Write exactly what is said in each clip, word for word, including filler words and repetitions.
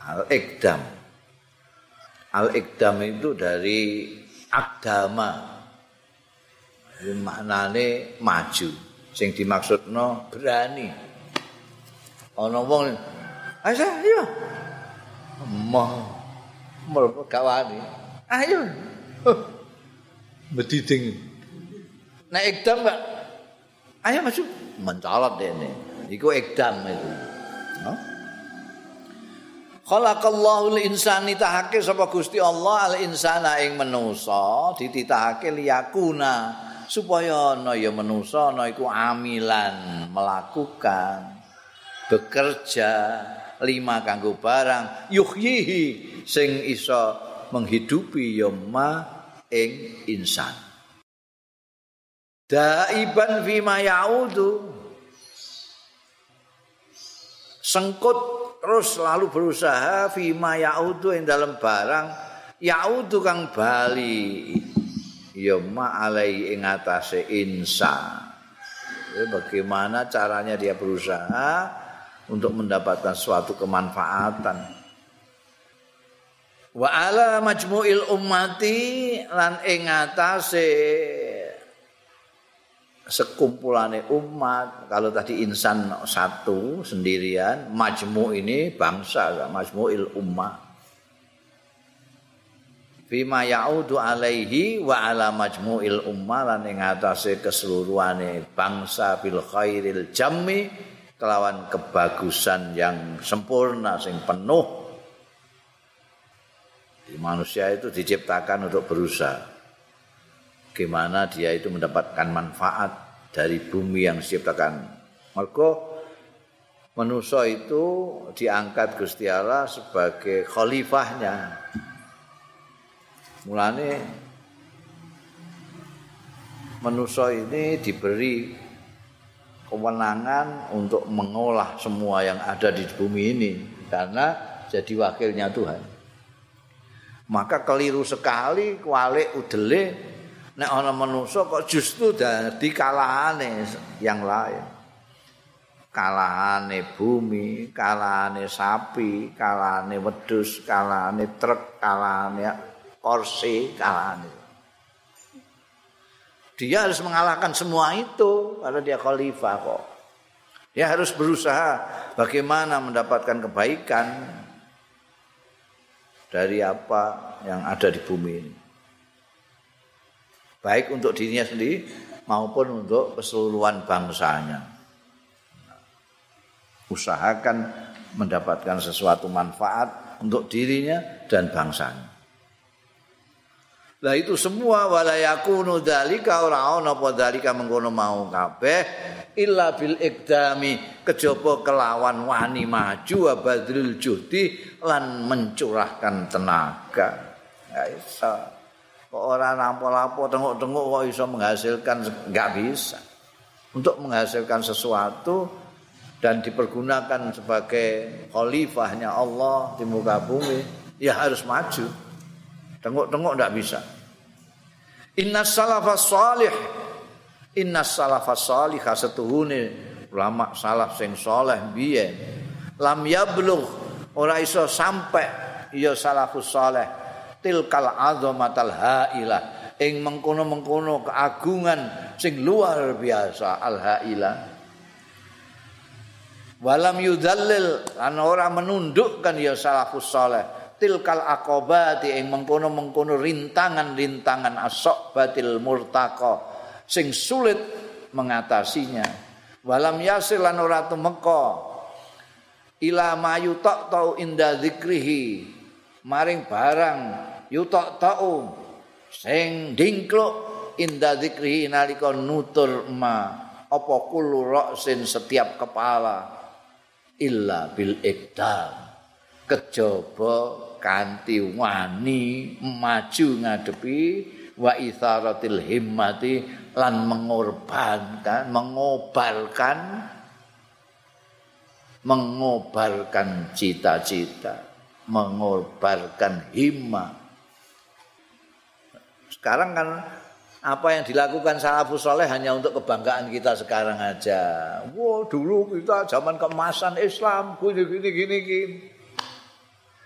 Al-Iqdam. Al-Iqdam itu dari agama. Maknane maju. Sing dimaksudno berani. Ana wong, "Ayo, ayo." Emah mlebu gawani. "Ayo." Bediding. Nek Iqdam Pak, ayo maju mencolot dene. Iku Iqdam itu. Huh? Khalaqallahu al-insani tahake sapa Gusti Allah al-insana ing manusa dititahake liyakuna supaya ana ya manusa ana iku amilan melakukan bekerja lima kanggo barang yuhyihi sing iso menghidupi ya ma ing insan daiban fima yaudu sengkut terus selalu berusaha fima yaudu ing dalam barang yaudu kang bali ya ma alai ing atase insan. Jadi bagaimana caranya dia berusaha untuk mendapatkan suatu kemanfaatan. Wa ala majmu'il ummati lan ing atase sekumpulane umat. Kalau tadi insan satu sendirian, majmu' ini bangsa, majmu'il ummah. Fima ya'udu alaihi wa ala majmu'il ummah lan ing atase keseluruhane bangsa bil khairil jammi kelawan kebagusan yang sempurna sing penuh. Di manusia itu diciptakan untuk berusaha. Bagaimana dia itu mendapatkan manfaat dari bumi yang diciptakan. Maka manusia itu diangkat Gusti Allah sebagai khalifahnya. Mulane manusia ini diberi kewenangan untuk mengolah semua yang ada di bumi ini karena jadi wakilnya Tuhan. Maka keliru sekali kualik udele nek ana manusa kok justru dadi kalahane yang lain. Kalahane bumi, kalahane sapi, kalahane wedhus, kalahane truk, kalahane kursi, kalahane. Dia harus mengalahkan semua itu karena dia khalifah kok. Dia harus berusaha bagaimana mendapatkan kebaikan dari apa yang ada di bumi ini. Baik untuk dirinya sendiri maupun untuk keseluruhan bangsanya. Usahakan mendapatkan sesuatu manfaat untuk dirinya dan bangsanya. Lah itu semua wala yakunu dzalika ora ana apa dzalika mengkono mau kabeh illa bil iqdami kejaba kelawan wani maju wa badrul juhdi lan mencurahkan tenaga. Ya iso. Kok ora nampo-lampo tengok-tengok kok iso menghasilkan enggak bisa. Untuk menghasilkan sesuatu dan dipergunakan sebagai khalifahnya Allah di muka bumi ya harus maju. Tengok-tengok enggak bisa. Innas salafas salih Innas salafas salih setuhune ulama salaf sing saleh biyen lam yablugh ora iso sampai ya salafus saleh tilkal azamatal hailah ing mengkono-mengkono keagungan sing luar biasa al hailah walam yudallil lan ora menundukkan ya salafus saleh tilkal aqabati ing mengkono-mengkono rintangan-rintangan as-sobatil murtaqa sing sulit mengatasinya walam yasil lan ora tumeka ila mayutak tau inda zikrihi maring barang yutak tau sing dingkluk inda zikrihi nalika nutur ma apa kullu ra'sin setiap kepala illa bil iqdam kejaba kanthi wani maju ngadepi wa itsaratil himmati lan mengorbankan mengobalkan mengobalkan cita-cita mengobalkan himmah. Sekarang kan apa yang dilakukan salafus saleh hanya untuk kebanggaan kita sekarang aja. Wah, dulu kita zaman keemasan Islam gini gini gini gini.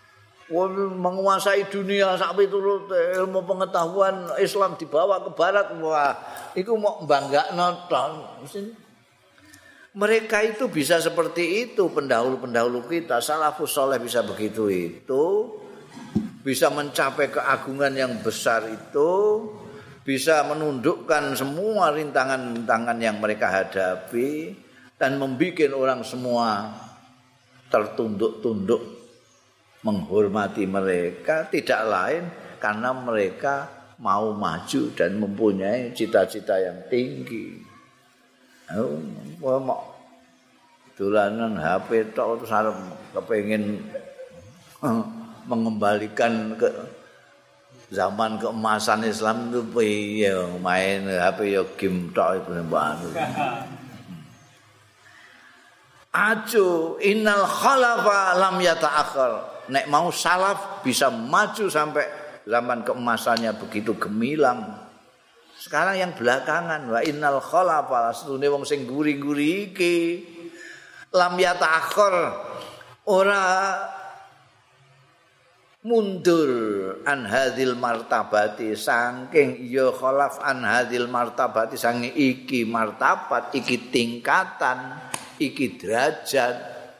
menguasai dunia sak piturut ilmu pengetahuan Islam dibawa ke barat, wah iku mau banggakno tok. Mereka itu bisa seperti itu, pendahulu-pendahulu kita, salafus saleh bisa begitu itu, bisa mencapai keagungan yang besar itu, bisa menundukkan semua rintangan-rintangan yang mereka hadapi dan membuat orang semua tertunduk-tunduk menghormati mereka, tidak lain karena mereka mau maju dan mempunyai cita-cita yang tinggi. Oh, mau dolanan H P tok terus arep kepengin mengembalikan ke zaman keemasan Islam itu piye main H P yo game tok itu mbak. Acu innal khalafa lam yata'akhir. Nek mau salaf bisa maju sampai zaman keemasannya begitu gemilang. Sekarang yang belakangan wa innal khalafa astune wong sing guri-guri iki lam yata'akhir ora mundur an hadil martabati saking ya khalaf an hadil martabati saking iki martabat iki tingkatan iki derajat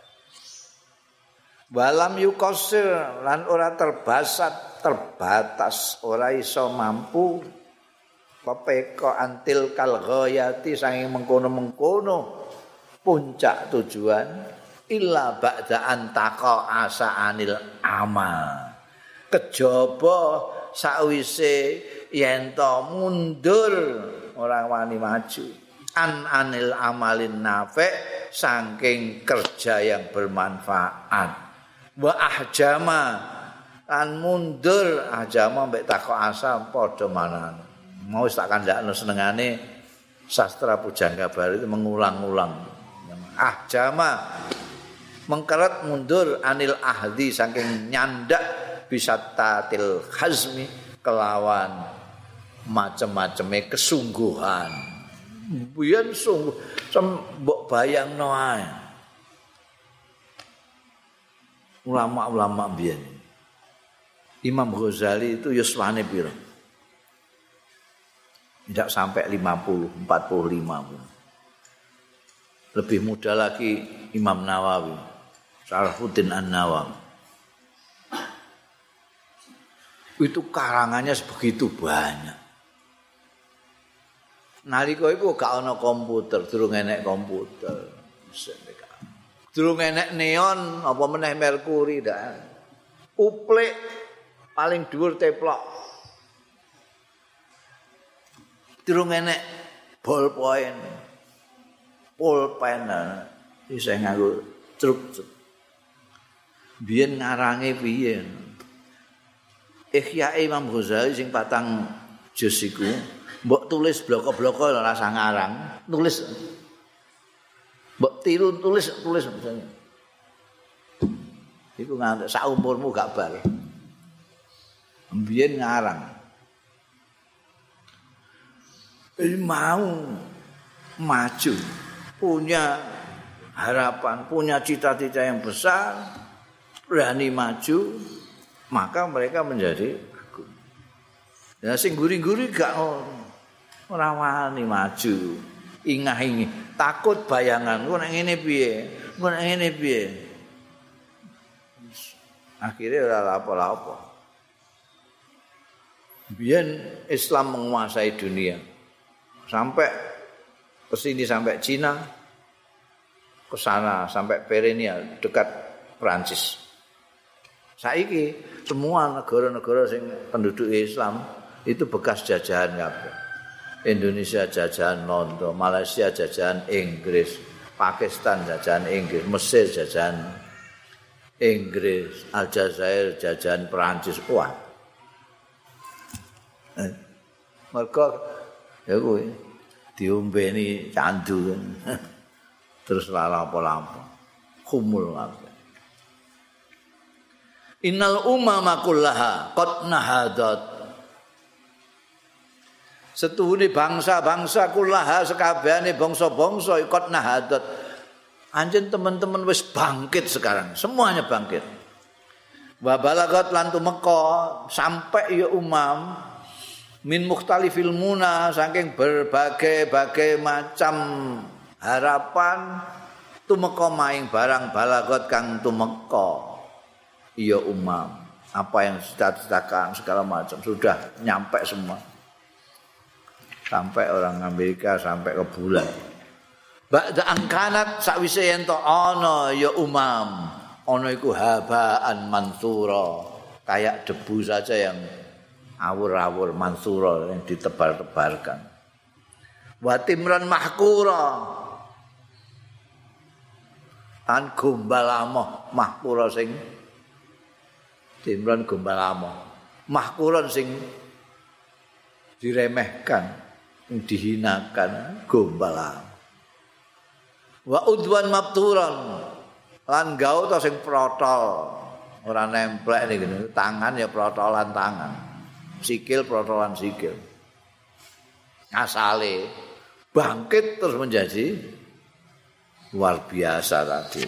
walam yukosir lan ora terbasat terbatas ora iso mampu pepeko antil kal ghayati saking mengkono-mengkono puncak tujuan illa ba'da antaqa asaanil amal kejaba sakwise yen to mundur ora wani maju an anil amalin nafi' saking kerja yang bermanfaat wa ahjama lan mundur ahjama mbek takok asa padha manan mau tak kandhakno senengane sastra pujangga baru itu mengulang-ulang ahjama mengkeret mundur anil ahdi saking nyandak bisa tatil hazmi kelawan macam-macamnya kesungguhan biyen sungguh mbok bayangno ae ulama-ulama biyen Imam Ghazali itu yuswane piro tidak sampai lima puluh, empat puluh lima pun. Lebih muda lagi Imam Nawawi Syarafuddin An-Nawawi itu karangannya sebegitu banyak. Nalika iku gak ana komputer, durung enek komputer. Durung enek neon apa meneh merkuri dak. Uplik paling dhuwur teplok. Durung enek ballpoint. Pulpen isih nganggo truk. Biyen ngarange piye? Ihya Imam Ghazali sing patang juz iku mbok tulis bloko-bloko ora rasa ngarang, tulis mbok tiru tulis tulis misalnya. Iku nganti sak umurmu gak bar. Mbiyen ngarang. Ini mau maju, punya harapan, punya cita-cita yang besar, berani maju, maka mereka menjadi agung. Ya sing guri-guri gak ora wani maju, ingah-ingih, takut bayangan, ku nek ngene piye, ku nek ngene piye. Akhirnya ora lapo-lapo. Biyen Islam menguasai dunia. Sampai ke sini sampai Cina, ke sana sampai Pyrenea dekat Prancis. Saiki semua negara-negara sing penduduk Islam itu bekas jajahan kabeh. Indonesia jajahan Londo, Malaysia jajahan Inggris, Pakistan jajahan Inggris, Mesir jajahan Inggris, Aljazair jajahan Prancis. Wah. Eh, mereka ya kuwi diombeni candu terus lapo-lapo kumul kabeh. Innal umama kullaha qad nahadat setuhune bangsa-bangsa kullaha sekabehane bangsa-bangsa qad nahadat anjen teman-teman wis bangkit sekarang semuanya bangkit Wa balagat lan tumeka sampai ya umam min mukhtalifil muna saking berbagai-bagai macam harapan tumeka maing barang balagot kang tumeka ya umam apa yang cita-citakan segala macam sudah nyampe semua sampai orang Amerika sampai ke bulan ba'da angkanat sakwise yen to ana ya umam ana iku habaan mansura kayak debu saja yang awur-awur mansura yang ditebar-tebarkan wa timran mahkura an gombal amoh mahkura sing timran gombal amoh mahkuran sing diremehkan dihinakan gombal amoh wa udwan mabturan lan gaul to sing protol ora nemplek niku tangan ya protolan tangan sikil protolan sikil asale bangkit terus menjadi luar biasa tadi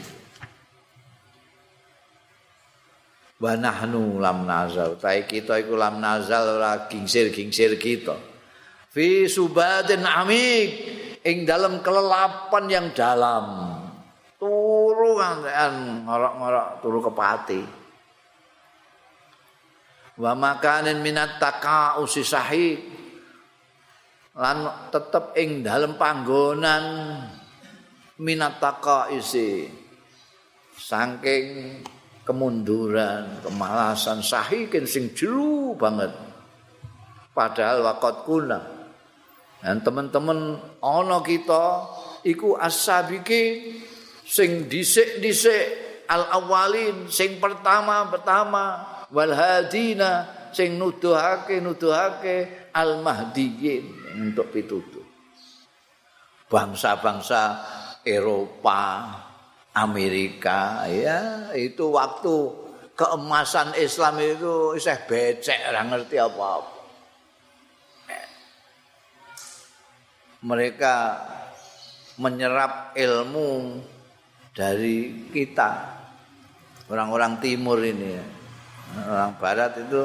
wa nahnu lam nazal tai kita iku lam nazal ora gingsir-gingsir kita fi subadin amik ing dalam kelelapan yang dalam turu kan ngorok-ngorok turu kepati wa makanin minat taqausi sahih lan tetep ing dalem panggonan minat taqausi saking kemunduran kemalasan sahikin sing jero banget padahal waqat kuna dan teman-teman ana kita iku as-sabiqin sing dhisik-dhisik al-awwalin sing pertama-pertama wal hadina sing nuduhake nuduhake al-mahdiyin untuk pitutuh bangsa-bangsa Eropa Amerika ya itu waktu keemasan Islam itu isih becek ora ngerti apa-apa mereka menyerap ilmu dari kita orang-orang timur ini ya. Orang barat itu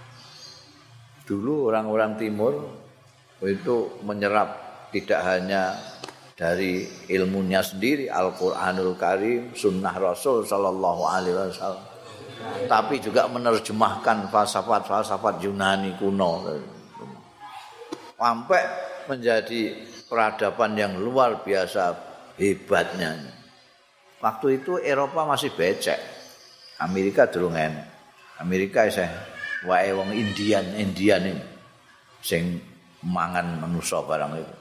dulu orang-orang timur itu menyerap tidak hanya dari ilmunya sendiri Al-Qur'anul Karim, sunnah Rasul sallallahu alaihi wasallam, tapi juga menerjemahkan falsafat-falsafat Yunani kuno sampai menjadi peradaban yang luar biasa hebatnya. Waktu itu Eropa masih becek. Amerika durung enek. Amerika isih wae wong Indian, Indian ini sing mangan manusa barang itu.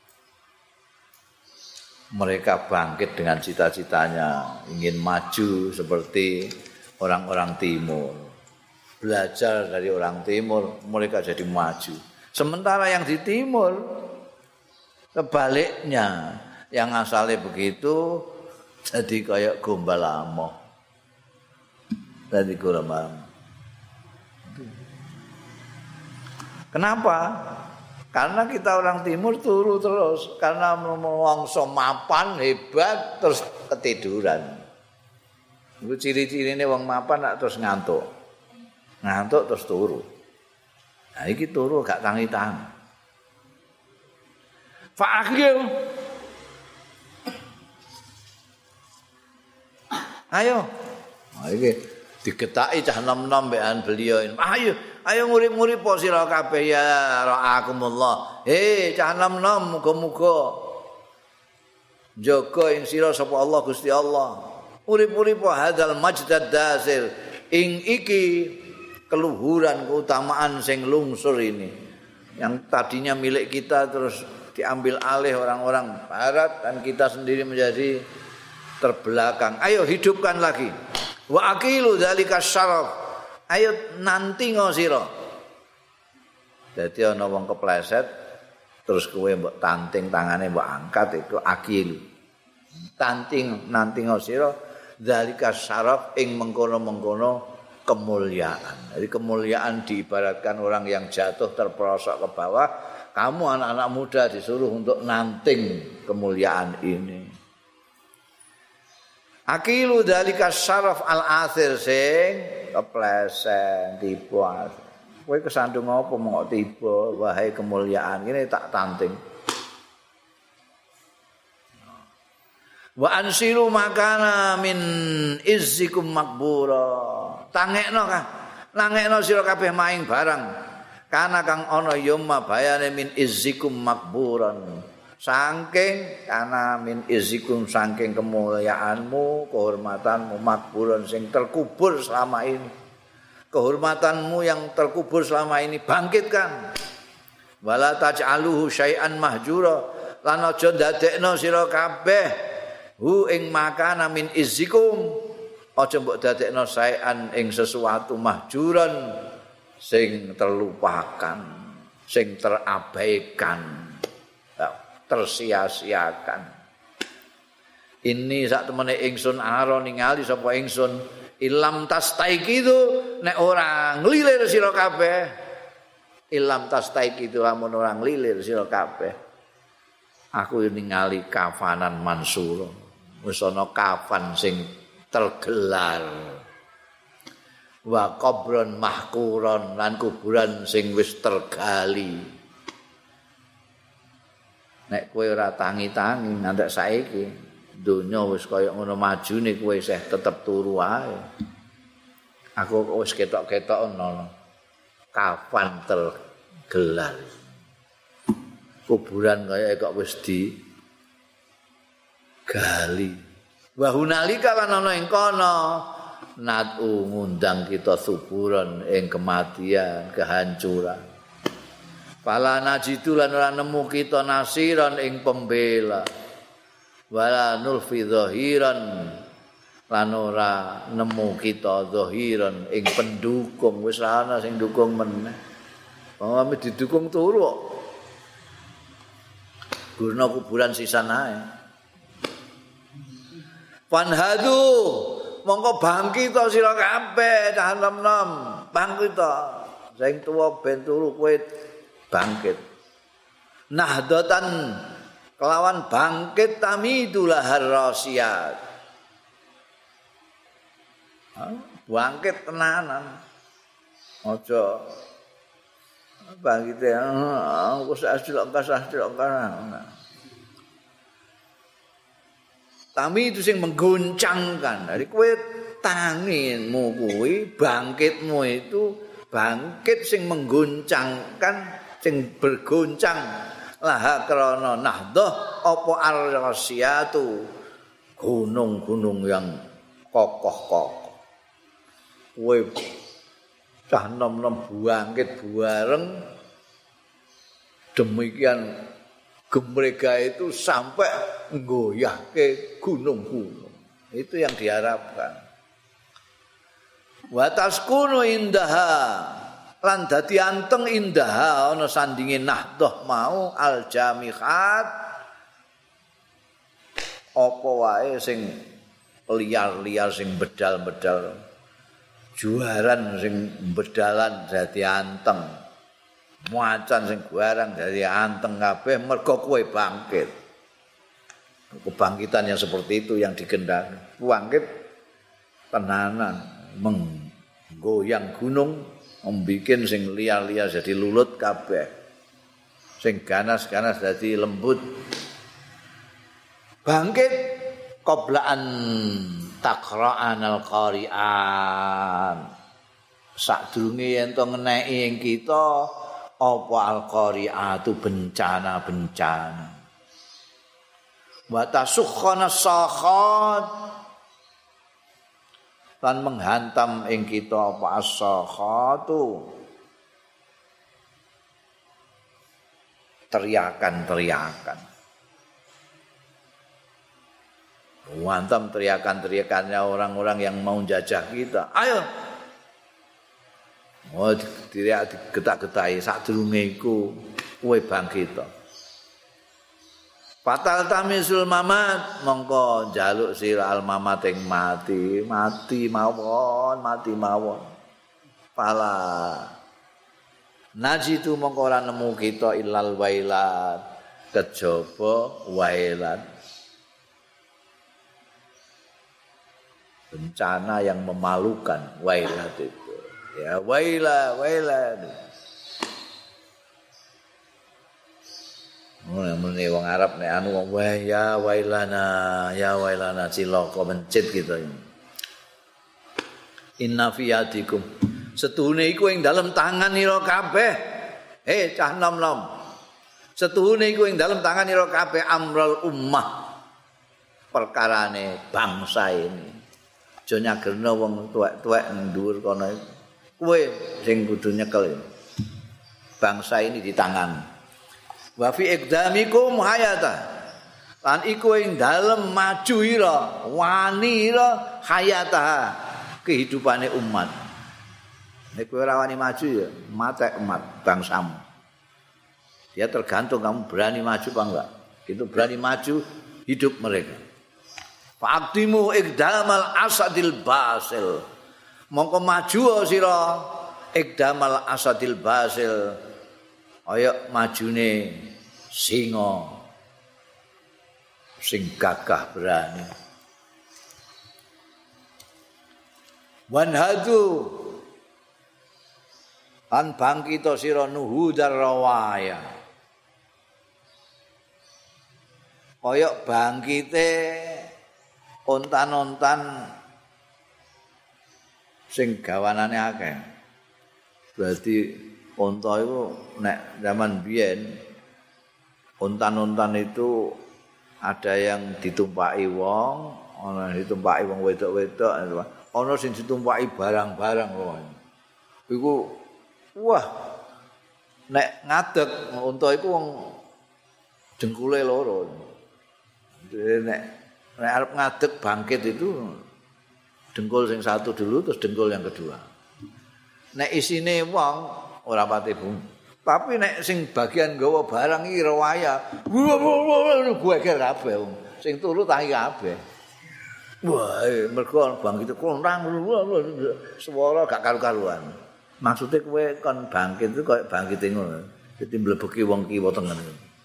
Mereka bangkit dengan cita-citanya ingin maju seperti orang-orang timur. Belajar dari orang timur, mereka jadi maju. Sementara yang di timur sebaliknya, yang asalnya begitu jadi kayak gombal amoh. Jadi gombal amoh. Kenapa? Karena kita orang timur turu terus, karena mongso mapan hebat terus ketiduran. Itu ciri-cirine wong mapan nak terus ngantuk. Ngantuk terus turu. Nah iki turu gak tangi-tangi. Fa'akhir. Ayo. Nah iki digetaki cah nom-nom mbekan beliau. Ayo, ayo ngurip-ngurip po sira kabeh ya ra'akumullah. Hei cah nom-nom muga-muga jaga ing sira sapa Allah Gusti Allah. Urip-urip po hadzal majdad dasir ing iki keluhuran keutamaan sing lungsur ini. Yang tadinya milik kita terus diambil alih orang-orang barat dan kita sendiri menjadi terbelakang. Ayo hidupkan lagi. Wa aqilu dzalika syaraf. Ayo nanti ngosira. Dadi ana wong kepleset terus kowe mbok tanting tangane mbok angkat itu akil. Tanting nanti ngosira dzalika syaraf ing mengkono-mengkono kemuliaan. Jadi kemuliaan diibaratkan orang yang jatuh terperosok ke bawah. Kamu anak-anak muda disuruh untuk nanting kemuliaan ini. Akilu dalika syaraf al-athir sing keplesen tiba. Kowe kesandung apa mok tiba wahai kemuliaan ngene tak tanting. Wa ansiru makana min izzikum makbura. Tangekno kah? Nangekno sira kabeh maing barang. Kana kang ana yoma bayane min izzikum makburan. Saking kana min izzikum saking kemuliaanmu, kehormatanmu makburan sing terkubur selama ini. Kehormatanmu yang terkubur selama ini bangkitkan. Wala taj'aluhu syai'an mahjura. Lan aja ndadekno sira kabeh hu ing makana min izzikum aja mbok dadekno saean ing sesuatu mahjuran sing terlupakan, sing terabaikan, tersia-siakan. Ini sak temene ingsun ara ningali sapa ingsun ilam tastaiqidu nek ora nglilir sira kabeh. Ilam tastaiqidu lamun ora nglilir sira kabeh. Aku ningali kafanan mansura. Wis ana kafan sing tergelar. Wa qabron mahkuron lan kuburan sing wis tergali. Nek kowe ora tangi-tangi ngantek saiki, donya wis kaya ngono majune kowe isih tetep turu wae. Aku wis ketok-ketok ono kafan tergelar. Kuburan kaya kok wis di gali. Wa hunalika lan ana ing kono nadu ngundang kita suburan ing kematian, kehancuran. Fala najidu lan ora nemu kita nasiran ing pembela. Wala nulfi zahiran lan ora nemu kita zahiran ing pendukung, wis ana sing dukung meneh. Wong didukung turu kok. Gurna kuburan sisan ae. Panhadu mongko bangkit sira kabeh cah nom-nom, bangkit sing tuwa ben turu kowe bangkit. Nahdatan kelawan bangkit tamidulah harrasiyat. Bangkit tenanan. Aja bangkit aku sasilok-sasilok Tami itu sing mengguncangkan. Dari kowe tanginmu kuwi, bangkitmu itu bangkit sing mengguncangkan, sing bergoncang. Laha krana nahdah apa ar-rasyatu. Gunung-gunung yang kokoh-kokoh. Kowe cah nom-nom bangkit bareng demikian gemrega itu sampai nggoyahke gunung-gunung. Itu yang diharapkan. Wa taskunu indaha lan dadi anteng indaha ana sandinge nahdah mau al jamihat apa wae sing liar-liar sing bedal-bedal juaran sing bedalan dadi anteng. Macan sing barang dari anteng kabeh mergo kowe bangkit. Kebangkitan yang seperti itu yang digendaki. Bangkit tenanan menggoyang gunung, membikin sing liar-liar jadi lulut kabeh. Sing ganas-ganas jadi lembut. Bangkit qoblaan taqra'anal qari'an. Sadurunge yen to ngeneki ing kita apa al-qari'atu bencana-bencana. Wa tasukhana sakhat lan menghantam ing kita apa as-sakhatu teriakan-teriakan. Menghantam teriakan-teriakannya orang-orang yang mau jajah kita. Ayo oh diriak digetak-getaki sadurunge iku kowe bangkit. Fatal tamisul mamat mongko njaluk sira al mamat ing mati, mati mawon, mati mawon. Pala najitu mongko ora nemu kita ilal wailat kejaba wailat. bencana yang memalukan. Wailat itu. Ya waila, waila. Mun muni wong Arab nek anu wong wah ya wailana, ya wailana cilaka mencit gitu. Inna fi yadikum. Setuhune iku ing dalem tangan ira kabeh. Eh cah nom-nom. Setuhune iku ing dalem tangan ira kabeh amrul ummah. Perkarane bangsa ini. Aja nyagerno wong tuwek-tuwek nduwur kono. Kowe sing kudu nyekel. Bangsa ini di tangan. Wa fi iqdamikum hayata. Lan iku ing dalem maju ira, wani ira hayata kehidupane umat. Nek kowe ora wani maju ya matek umat bangsamu. Dia tergantung kamu berani maju apa enggak. Itu berani maju hidup mereka. Fa'timu iqdamal asadil basil. Mongko maju sira iqdamal asadil basil. Kaya majune singa sing gagah berani. Wanhadu an bangkita sira nuhudar rawaya. Kaya bangkite ontan-ontan sing gawanane akeh. Berarti onta itu nek zaman biyen ontan-ontan itu ada yang ditumpaki wong, ana ditumpaki wong wedok-wedok, ana sing ditumpaki barang-barang loh. Iku wah nek ngadeg onta iku wong jengkule loro. Nek nek arep ngadeg bangkit itu dengkul sing satu dulu terus dengkul yang kedua. Nek isine wong ora pati bung. Tapi nek sing bagian gawa barang iki rewaya, gue kira kabeh wong. Sing turu tangi kabeh. Wah, mergo bangkit konrang swara gak karu-karuan. Maksude kowe kon bangkit itu koyo bangkite ngono. Dadi mlebeki wong kiwa tengen.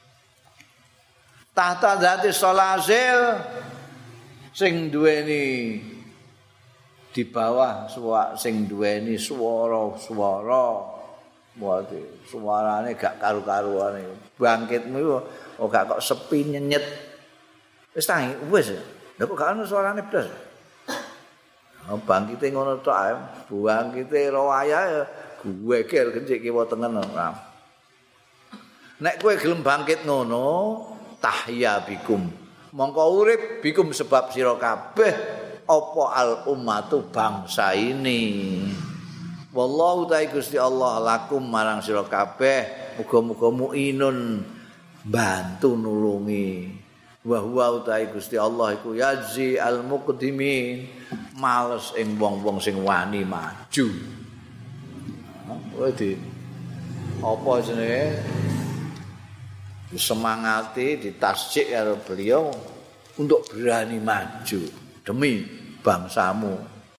Tahta zati solasil sing duweni di bawah suwa sing duweni swara-swara. Waduh, suarane gak karu-karuan iki. Bangkitmu iku oh gak kok sepi nyenyet. Wis tangi, wis. Lha kok gak ono suarane blas. Oh, bangkite ngono tok ae. Bangkite rawaya ya geger kencik kiwa tengen. Nek kowe gelem bangkit ngono, tahya bikum. Mongko urip bikum sebab sira kabeh apa al ummatu bangsa ini. Wallahu ta'ala Gusti Allah lakum marang sira kabeh muga-muga muinun bantu nulungi. Wa huwa ta'ala Gusti Allah iku yazi al muqdimin males ing wong-wong sing wani maju. Wedi apa jenenge disemangati ditasjik karo beliau untuk berani maju demi bangsamu.